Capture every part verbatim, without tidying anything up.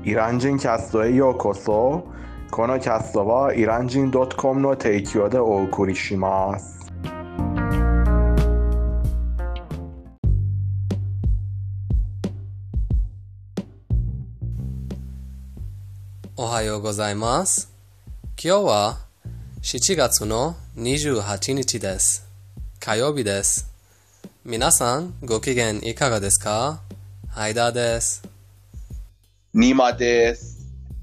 イラン人キャストへようこそ。このキャストはイラン人 .com の提供でお送りします。 おはようございます。今日はしちがつのにじゅうはちにちです。火曜日です。皆さんご機嫌いかがですか？ハイダーです。 ニマです。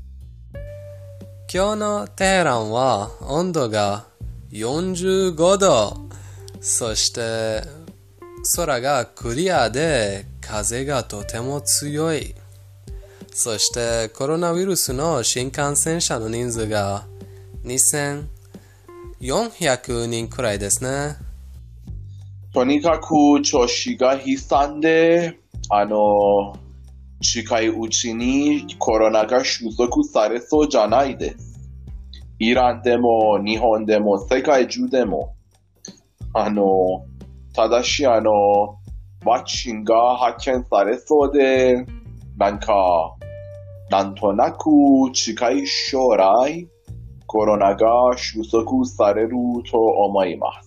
今日のテヘランは温度がよんじゅうごど、そして空がクリアで風がとても強い。そしてコロナウイルスの新感染者の人数がにせんよんひゃくにんくらいですね。 とにかく調子が悲惨で、あの、近いうちにコロナが収束されそうじゃないです。イランでも日本でも世界中でも。あの、ただしあの、ワクチンが発見されそうで、なんか、なんとなく近い将来、コロナが収束されると思います。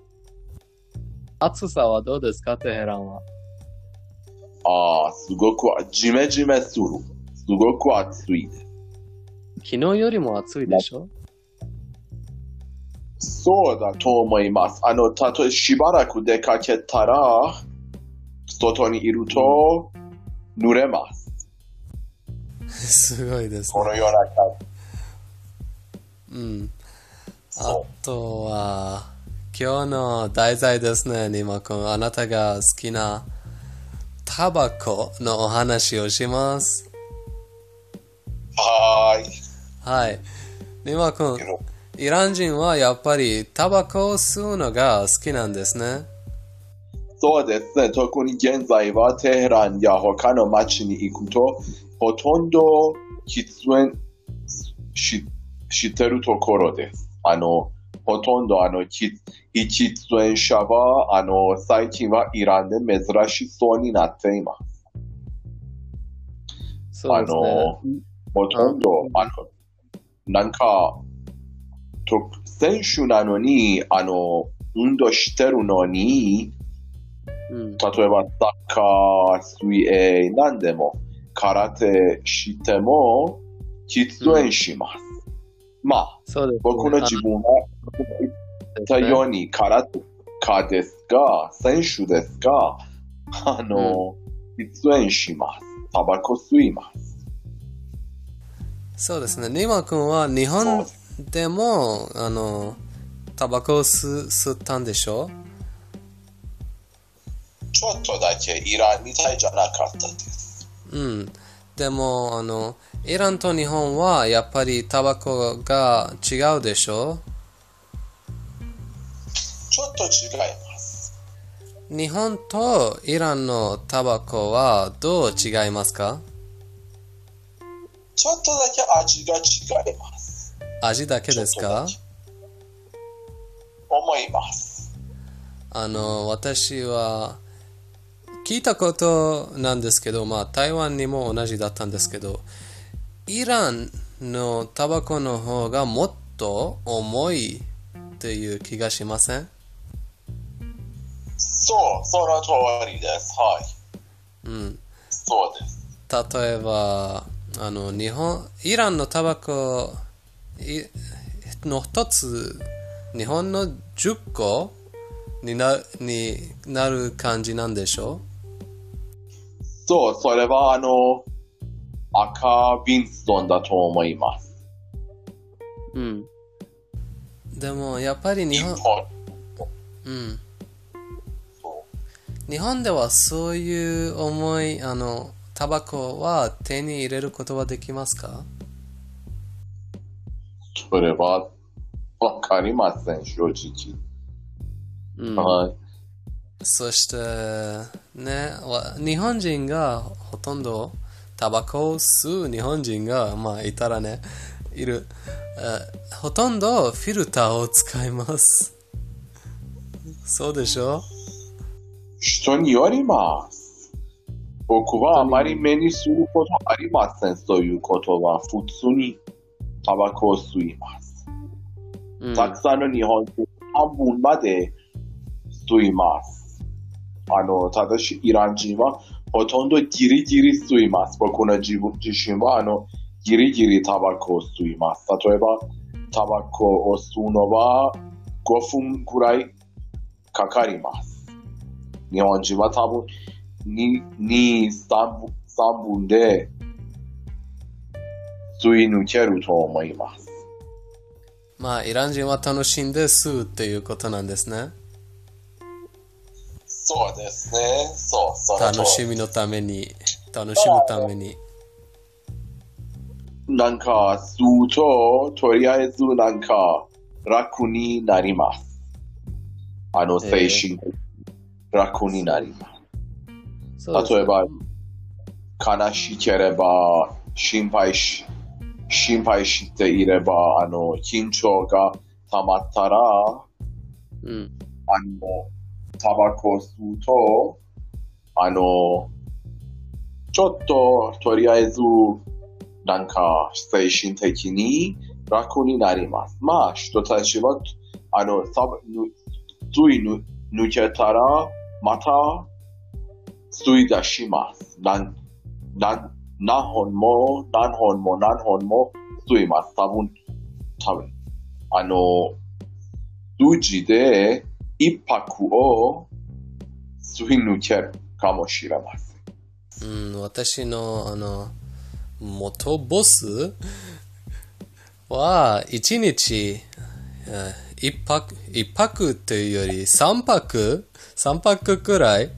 暑さはどうですか、テヘランは。 ああ、すごくジメジメする。すごく暑いです。 昨日よりも暑いでしょ？ そうだと思います。あの、たとえしばらく出かけたら、外にいると濡れます。 すごいですね。 このような感じ。うん。あとは、今日の題材ですね、ニマ君。あなたが好きなタバコのお話をします。 はーい。 はい。ニマ君、イラン人はやっぱりタバコを吸うのが好きなんですね。 そうですね。特に現在はテヘランや他の街に行くと、ほとんど喫煙し、してるところです。あの、ほとんどあの、喫煙者は、あの、最近はイランで珍しそうになっています。 そうですね。 あの、ほとんど、あの、なんか、と、選手なのに、あの、運動してるのに、うん、例えばサッカー、水泳、何でも、空手しても、喫煙します。うん、まあ、そうですね、僕の自分が言ったように、空手家ですが、選手ですが、あの、うん、喫煙します。タバコ吸います。 そうですね。ニマ君は日本でも、あの、タバコを吸、吸ったんでしょ？ ちょっとだけイランみたいじゃなかったです。 うん。でも、あの、イランと日本はやっぱりタバコが違うでしょ？ ちょっと違います。 日本とイランのタバコはどう違いますか？ ちょっとだけ味が違います。 味だけですか？ 思います。 あの、私は聞いたことなんですけど、まあ台湾にも同じだったんですけど、イランのタバコの方がもっと重いっていう気がしません？ そう、その通りです。はい。 うん。 そうです。 例えば、あの、日本、イランのタバコの一つ、日本のじゅっこにな、になる感じなんでしょう？ そう、それはあの、赤ビンストンだと思います。 うん。 でも、やっぱり日本、 日本うん。日本ではそういう重い、あの、タバコは手に入れることはできますか？ それはわかりません、正直。 うん、 はい。 そして、ね、日本人がほとんどタバコを吸う日本人が、まあ、いたらね、いる。ほとんどフィルターを使います。そうでしょ？ 人によります。 僕はあまり目にすることありません。そういうことは普通にタバコを吸います。 うん。 たくさんの日本人半分まで吸います。あの、ただしイラン人はほとんどギリギリ吸います。僕の自分自身はあのギリギリタバコを吸います。例えばタバコを吸うのはごふんくらいかかります。日本人は多分に、さんぶんで吸い抜けると思います。 まあ、イラン人は楽しんで吸うっていうことなんですね。 そうですね。そう、その通り楽しみのために、楽しむために。 なんか吸うと、とりあえずなんか楽になります。あの、精神的に楽になります。 そうですね例えば、悲しければ、心配し、心配していれば、あの、緊張が溜まったら、 うん。 あの、タバコを吸うと、あの、ちょっと、とりあえず、なんか、精神的に楽になります。まあ、人たちは、あの、たぶん、吸いぬ抜けたら、また、吸い出します。何、何、何本も、何本も、何本も吸います。多分、多分、あの、数字で一泊を吸い抜けるかもしれません。 うん、私の、あの、元ボスは、一日、えー一泊、一泊というより三泊三泊くらい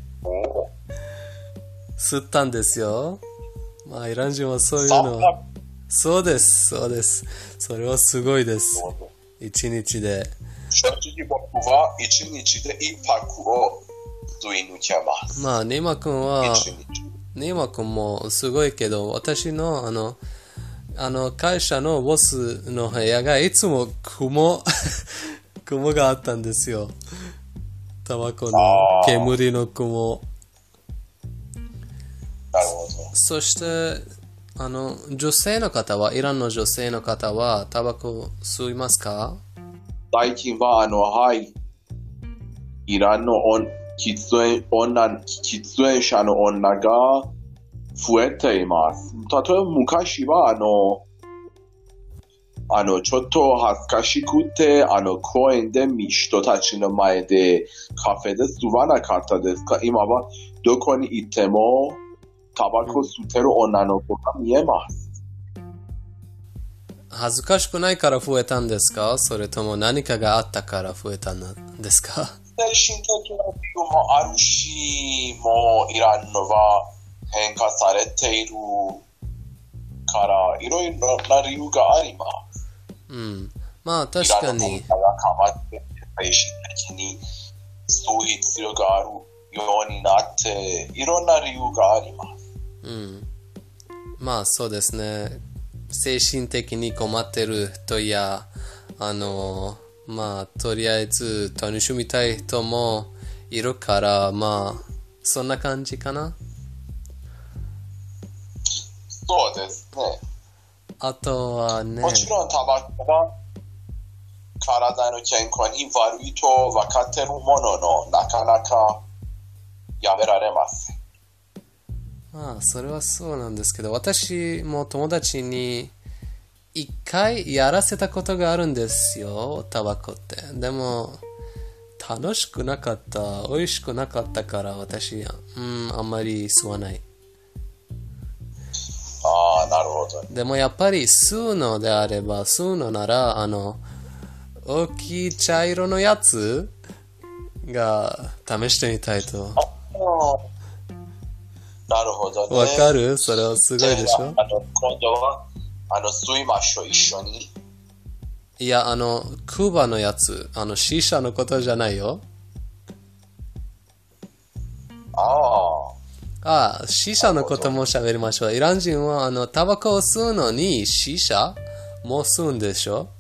吸ったんですよ。まあ、イラン人はそういうの。そうです、そうです。それはすごいです。一日で。 正直僕は一日で一泊を吸い抜けます。 まあ、ネイマ君は、 一日。 ネイマ君もすごいけど、私の、あの、あの、会社のボスの部屋がいつも雲、雲があったんですよ。タバコの煙の雲。 なるほど。 そして、あの、女性の方は、イランの女性の方は、タバコ吸いますか？ 最近は、あの、はい、イランの女、喫煙、女、喫煙者の女が増えています。例えば昔は、あの、あの、ちょっと恥ずかしくて、あの、公園で人たちの前でカフェで吸わなかったですが、今はどこに行ってもタバコ吸ってる女の子が見えます。 恥ずかしくないから増えたんですか？それとも何かがあったから増えたんですか？ 精神的な理由もあるし、もうイランのは変化されているから、いろいろな理由があります。 うん。まあ確かに。 イランの文化が変わって、精神的に吸う必要があるようになって、いろんな理由があります。 うん。まあそうですね。精神的に困ってる人や、あの、まあとりあえず楽しみたい人もいるから、まあそんな感じかな。 そうですね。 あとはね。 もちろんタバコは体の健康に悪いと分かっているものの、なかなかやめられません。 まあそれはそうなんですけど、私も友達に一回やらせたことがあるんですよ、タバコって。でも楽しくなかった、美味しくなかったから私、うん、あんまり吸わない。 ああ、なるほど。 でもやっぱり吸うのであれば、吸うのなら、あの、大きい茶色のやつが試してみたいと。 なるほどね。 わかる？それはすごいでしょ？ あの、今度は、あの、吸いましょう、一緒に。 いや、あの、クーバのやつ、あの、シーシャのことじゃないよ。 ああ。 ああ、シーシャのことも喋りましょう。イラン人は、あの、タバコを吸うのに、シーシャも吸うんでしょ？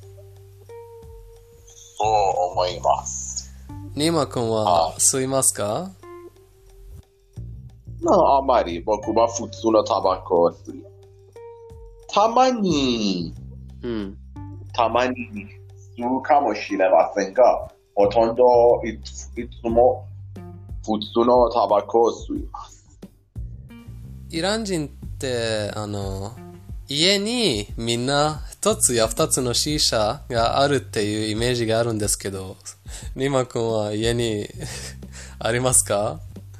そう思います。 ニーマ君は吸いますか？ まあ、あまり僕は普通のタバコを吸う。たまに、 うん。 たまに吸うかもしれませんが、ほとんどいつ、いつも普通のタバコを吸います。 イラン人ってあの家にみんな一つや二つのシーシャがあるっていうイメージがあるんですけど、ニマ君は家にありますか？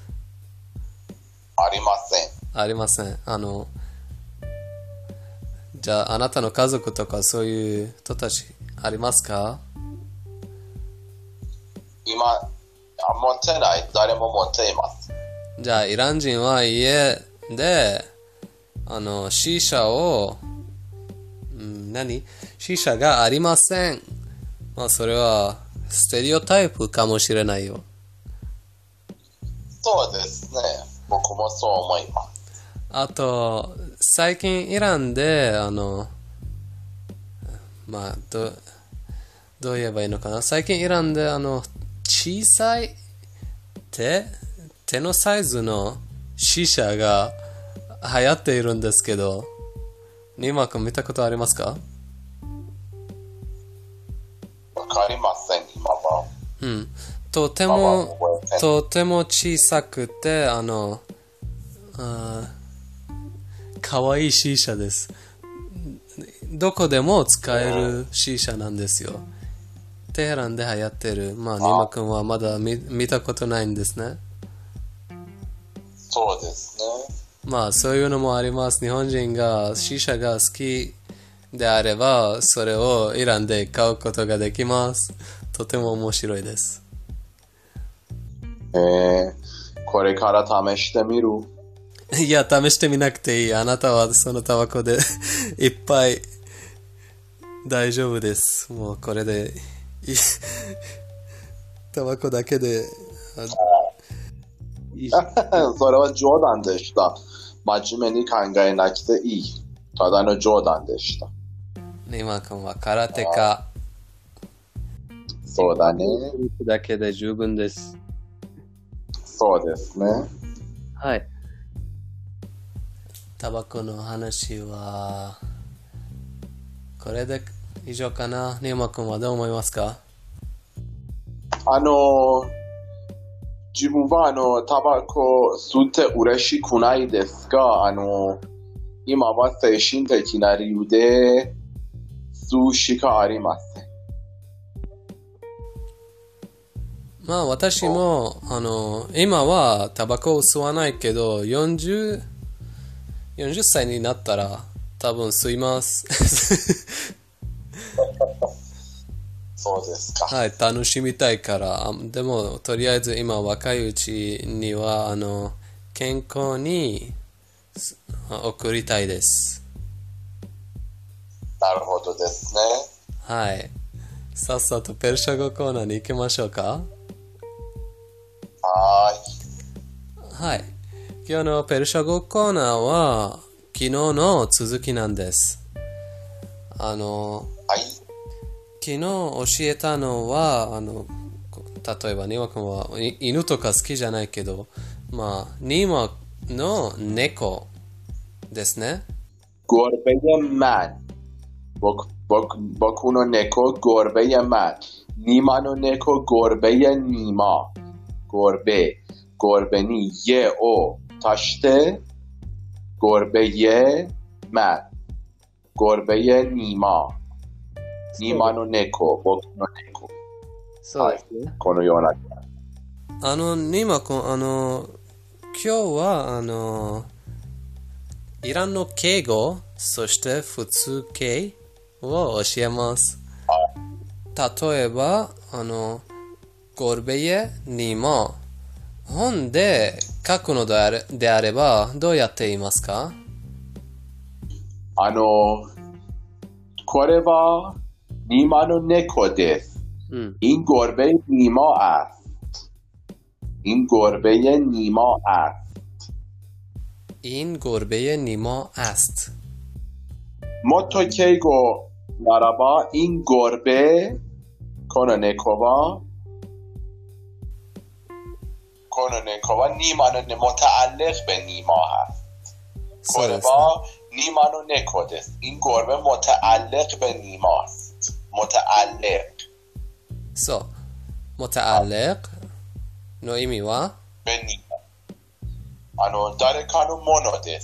ありません。 ありません。あのじゃああなたの家族とかそういう人たちありますか？ 今、あ持ってない。誰も持っています。 じゃあイラン人は家であのシーシャを、うん、何シーシャがありません。まあそれはステレオタイプかもしれないよ。 そうですね。僕もそう思います。 あと最近イランであのまあどどう言えばいいのかな。最近イランであの小さい手手のサイズのシーシャが流行っているんですけど、ニマ君見たことありますか？ わかりません、今は。 うん。とてまあまあも覚えてとても小さくてあのあかわいいシーシャです。どこでも使えるシーシャなんですよ。テヘランで流行ってる。まあニマ君はまだ 見, 見たことないんですね。 そうですね。 まあそういうのもあります。日本人がシーシャが好きであればそれをイランで買うことができます。とても面白いです。 えー、これから試してみる。 いや、試してみなくていい。あなたはそのタバコでいっぱい大丈夫です。もうこれでいいタバコだけでいい。 それは冗談でした。真面目に考えなくていい。ただの冗談でした。 ニマ君は空手家。 そうだね。 だけで十分です。 そうですね。 はい。 タバコの話はこれで以上かな。ニマ君はどう思いますか？ あの、自分はあの、タバコ吸って嬉しくないですが、あの、今は精神的な理由で吸うしかありません。 まあ私もあの今はタバコを吸わないけどよんじゅう、よんじゅっさいになったら多分吸いますそうですか。 はい、楽しみたいから。でもとりあえず今若いうちにはあの健康に送りたいです。 なるほどですね。 はい、さっさとペルシャ語コーナーに行きましょうか。 はーい。 はい。今日のペルシャ語コーナーは昨日の続きなんです。あの、 はい。 昨日教えたのは、あの、例えばニマ君は犬とか好きじゃないけど、まあ、ニマの猫ですね。 گربه من. 僕、僕、僕の猫、گربه من. نیماの猫、گربه نیما. گربه. گربهにیه او足して گربه من. گربه نیما. ニマの猫、僕の猫。 そうですね。 このような。 あの、ニマ君、あの、今日は、あの、イランの敬語、そして普通敬を教えます。例えば、あの、ゴルベイニマ。本で書くのであれ、であれば、どうやって言いますか？ あの、これは、نیماの猫です。 うん。 این گربه نیما است. این گربه نیما است. این گربه نیما است. متو کیگو نارابا این گربه この猫はこの猫はニマのね、متعلق به نیما هست. そうですね。 これはニマの猫です。این گربه متعلق به نیماست. متعلق. そう。متعلق の意味は به نیما. あの、誰かのものです。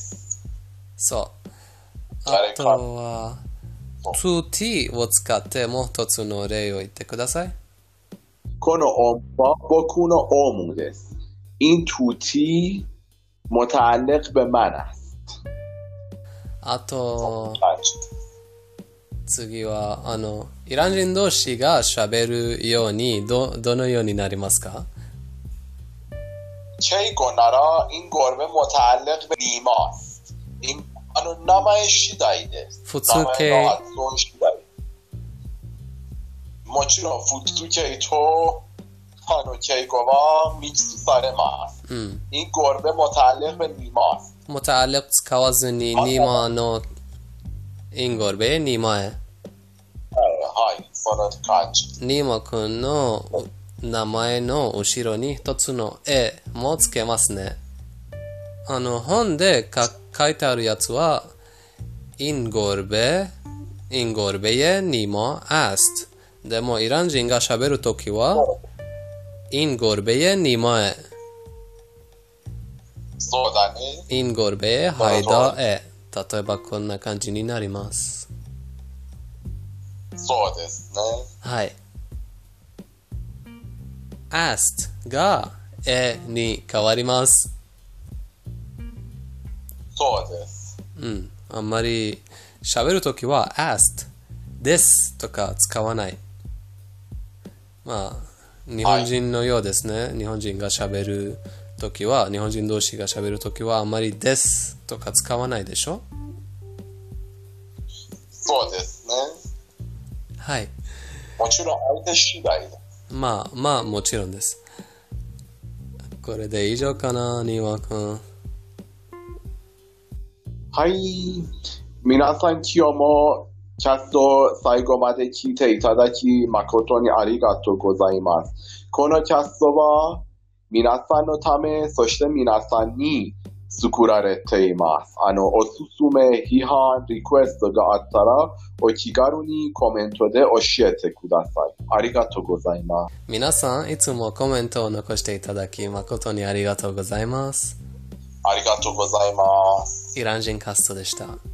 そう。あとは、to t を使ってもう一つの例を言ってください。 このオムは僕のオムです。این توتی متعلق به من است. あと、次は、あの、イラン人同士が喋るように、ど、どのようになりますか？ چه گنارا این گربه متعلق به نیماست. اینあの名前次第です。 普通形。 名前の発音次第。もちろん普通形とあの敬語はミックスされます。 うん。 این گربه متعلق به نیماست. متعلق 使わずにニマのインゴルベニマへ。 はい、その感じ。 ニマ君の名前の後ろに一つの絵もつけますね。あの本でか書いてあるやつはインゴルベインゴルベへニマアスト。でもイラン人が喋るときはインゴルベへニマへ。 そうだね。 インゴルベへハイダへ。例えばこんな感じになります。 そうですね。 はい。asked がえに変わります。 そうです。 うん。あんまり喋るときは asked ですとか使わない。まあ、日本人のようですね。はい、日本人が喋るときは、日本人同士が喋るときはあんまりですとか使わないでしょ？ そうですね。 はい。 もちろん相手次第だ。 まあ、まあもちろんです。これで以上かな、ニワ君。 はい。皆さん今日もキャスト最後まで聞いていただき誠にありがとうございます。このキャストは皆さんのため、そして皆さんに作られています。あの、おすすめ、批判、リクエストがあったら、お気軽にコメントで教えてください。ありがとうございます。 皆さん、いつもコメントを残していただき、誠にありがとうございます。 ありがとうございます。 イラン人キャストでした。